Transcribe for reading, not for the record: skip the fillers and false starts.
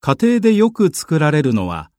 家庭でよく作られるのは